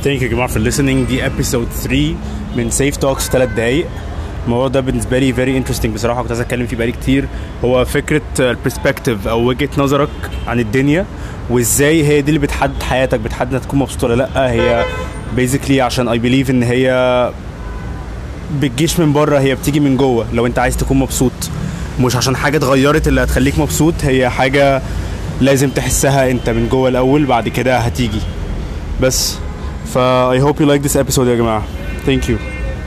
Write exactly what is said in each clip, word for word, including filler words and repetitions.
Thank you يا جماعة for listening. دي episode three من Safe Talks ثلاث دقايق. الموضوع ده بالنسبة لي very interesting بصراحة، كنت عايز أتكلم فيه بقالي كتير. هو فكرة البرسبكتيف أو وجهة نظرك عن الدنيا، وإزاي هي دي اللي بتحدد حياتك، بتحدد هتكون مبسوط ولا لأ. هي basically عشان I believe إن هي بتجيش من بره، هي بتيجي من جوه. لو أنت عايز تكون مبسوط مش عشان حاجة اتغيرت اللي هتخليك مبسوط، هي حاجة لازم تحسها أنت من جوه الأول، بعد كده هتيجي. بس ف I hope you like this episode يا جماعة. Thank you.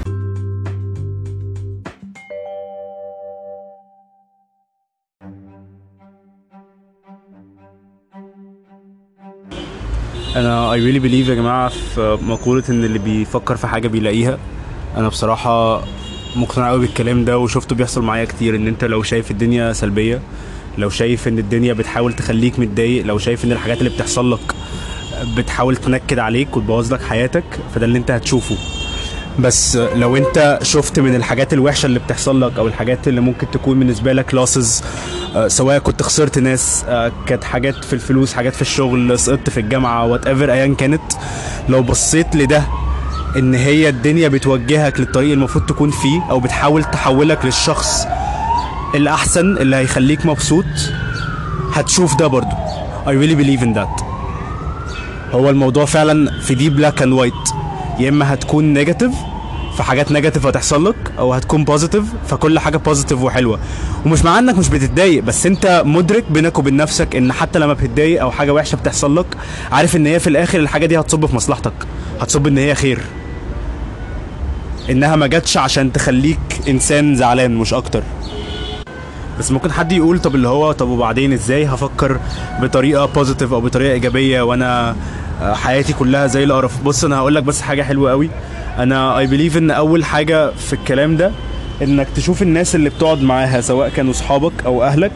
أنا I really believe يا جماعة في مقولة إن اللي بيفكر في حاجة بيلاقيها. أنا بصراحة مقتنع قوي بالكلام ده، وشفته بيحصل معايا كتير. إن أنت لو شايف الدنيا سلبية، لو شايف إن الدنيا بتحاول تخليك متضايق، لو شايف إن الحاجات اللي بتحصل لك بتحاول تنكد عليك وتبوظ لك حياتك، فده اللي انت هتشوفه. بس لو انت شفت من الحاجات الوحشة اللي بتحصل لك او الحاجات اللي ممكن تكون بالنسبة لك لاسز، سواء كنت خسرت ناس، كانت حاجات في الفلوس، حاجات في الشغل، سقطت في الجامعة، whatever ايا كانت، لو بصيت لده ان هي الدنيا بتوجهك للطريق المفروض تكون فيه، او بتحاول تحولك للشخص الاحسن اللي هيخليك مبسوط، هتشوف ده برضو. I really believe in that. هو الموضوع فعلا في دي بلاك اند وايت، يا اما هتكون نيجاتيف فحاجات نيجاتيف هتحصل لك، او هتكون بوزيتيف فكل حاجه بوزيتيف وحلوه. ومش معناه انك مش بتتضايق، بس انت مدرك بينك وبين نفسك ان حتى لما بتتضايق او حاجه وحشه بتحصل لك، عارف ان هي في الاخر الحاجه دي هتصب في مصلحتك، هتصب ان هي خير، انها ما جاتش عشان تخليك انسان زعلان مش اكتر. بس ممكن حد يقول طب اللي هو طب وبعدين ازاي هفكر بطريقه بوزيتيف او بطريقه ايجابيه وانا حياتي كلها زي القرف؟ بص انا هقول لك بس حاجه حلوه قوي. انا اي بليف ان اول حاجه في الكلام ده انك تشوف الناس اللي بتقعد معاها، سواء كانوا صحابك او اهلك،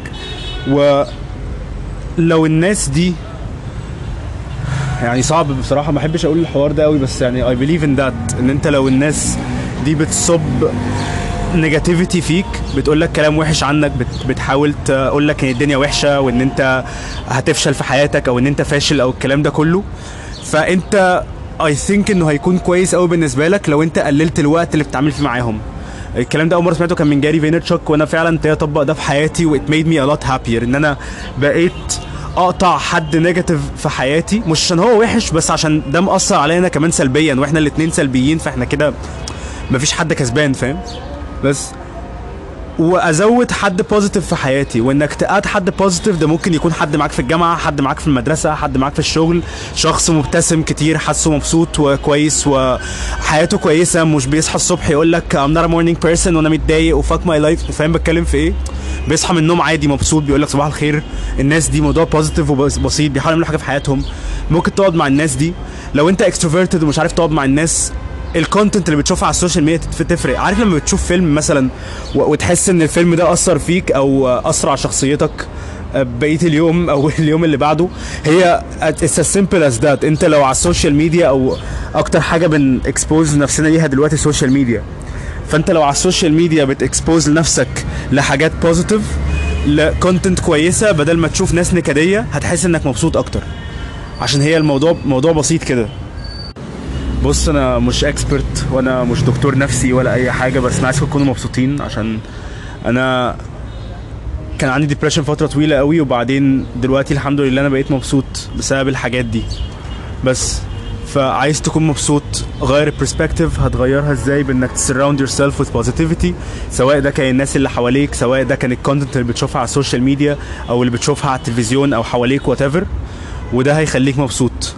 ولو الناس دي يعني صعب بصراحه، ما احبش اقول الحوار ده قوي، بس يعني اي بليف ان ذات ان انت لو الناس دي بتصب نيجاتيفيتي فيك، بتقول لك كلام وحش عنك، بت بتحاول تقول لك ان الدنيا وحشه وان انت هتفشل في حياتك او ان انت فاشل او الكلام ده كله، فانت اي ثينك انه هيكون كويس قوي بالنسبه لك لو انت قللت الوقت اللي بتتعامل فيه معاهم. الكلام ده اول مره سمعته كان من جاري فينرتشوك، وانا فعلا ابتديت اطبق ده في حياتي، وات ميد مي ا لوت هابير ان انا بقيت اقطع حد نيجاتيف في حياتي، مش عشان هو وحش، بس عشان ده مأثر علينا كمان سلبيا، واحنا الاثنين سلبيين، فاحنا كده مفيش حد كسبان، فاهم؟ بس وازود حد بوزيتيف في حياتي. وانك تقاد حد بوزيتيف ده ممكن يكون حد معاك في الجامعه، حد معاك في المدرسه، حد معاك في الشغل، شخص مبتسم كتير، حاسه مبسوط وكويس وحياته كويسه، مش بيصحى الصبح يقول لك I'm not a morning person وانا متضايق وفاك ماي لايف. فاهم بتكلم في ايه؟ بيصحى من النوم عادي مبسوط، بيقول لك صباح الخير. الناس دي موضوع بوزيتيف وبسيط، بيحاولوا يعملوا حاجه في حياتهم. ممكن تقعد مع الناس دي. لو انت اكستروفيرتد ومش عارف تقعد مع الناس، الكونتنت اللي بتشوفها على السوشيال ميديا تفرق. عارف لما بتشوف فيلم مثلا وتحس ان الفيلم ده اثر فيك او اثر على شخصيتك بقيه اليوم او اليوم اللي بعده، هي it's as simple as that. انت لو على السوشيال ميديا، او اكتر حاجه بنكسبوز نفسنا ليها دلوقتي السوشيال ميديا، فانت لو على السوشيال ميديا بتكسبوز لنفسك لحاجات بوزيتيف، لكونتنت كويسه، بدل ما تشوف ناس نكديه، هتحس انك مبسوط اكتر، عشان هي الموضوع موضوع بسيط كده. بص انا مش اكسبرت وانا مش دكتور نفسي ولا اي حاجه، بس انا عايزكم تكونوا مبسوطين، عشان انا كان عندي ديبريشن فتره طويله قوي، وبعدين دلوقتي الحمد لله انا بقيت مبسوط بسبب الحاجات دي. بس فعايز تكون مبسوط، غير البرسبكتيف. هتغيرها ازاي؟ بانك تسراوند يور سيلف وذ بوزيتيفيتي، سواء ده كان الناس اللي حواليك، سواء ده كان الكونتنت اللي بتشوفها على السوشيال ميديا او اللي بتشوفها على التلفزيون او حواليك وات ايفر، وده هيخليك مبسوط.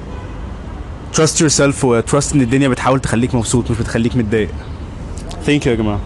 trust yourself و trust ان الدنيا بتحاول تخليك مبسوط مش بتخليك متضايق. thank you يا جماعة.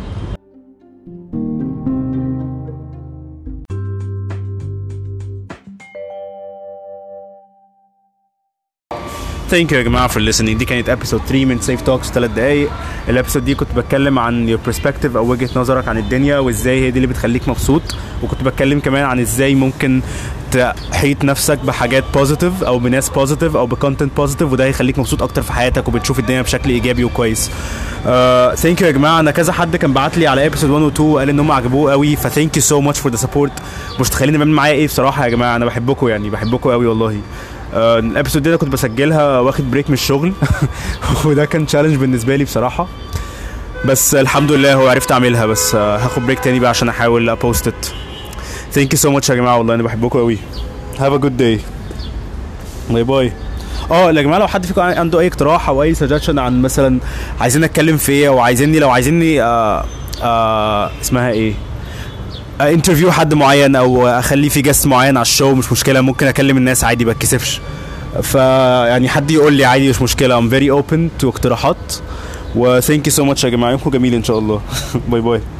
Thank you يا جماعة for listening. دي كانت episode three من Safe Talks ثلاث دقايق. الابيسود دي كنت بتكلم عن your perspective او وجهة نظرك عن الدنيا، وازاي هي دي اللي بتخليك مبسوط، وكنت بتكلم كمان عن ازاي ممكن تحيط نفسك بحاجات بوزيتيف او بناس بوزيتيف او بكونتنت بوزيتيف، وده هيخليك مبسوط اكتر في حياتك وبتشوف الدنيا بشكل ايجابي وكويس. ثانك uh, يو يا جماعه. انا كذا حد كان بعت لي على ابيسود واحد و اتنين وقال ان هم عجبوه قوي، فثانك يو سو ماتش فور ذا سبورت. مش تخليني بعمل معايا ايه بصراحه يا جماعه، انا بحبكم يعني بحبكم قوي والله. آه، الابيسود دي انا كنت بسجلها واخد بريك من الشغل وده كان تشالنج بالنسبه لي بصراحه، بس الحمد لله هو عرفت اعملها. بس آه، هاخد بريك تاني بقى عشان احاول ابوست ات. ثانك يو سو ماتش يا جماعه، والله انا بحبكم قوي. هاف ا جود داي. باي باي. اه يا جماعه، لو حد فيكم عنده اي اقتراح او اي سجشن عن مثلا عايزين اتكلم في ايه، او عايزيني لو عايزيني آه آه اسمها ايه انترفيو حد معين او اخليه في جست معين على الشو، مش مشكله، ممكن اكلم الناس عادي بتكسفش. فيعني حد يقول لي عادي مش مشكله. I'm very open to اقتراحات. و thank you so much يا جماعه، يومكم جميل ان شاء الله. باي باي.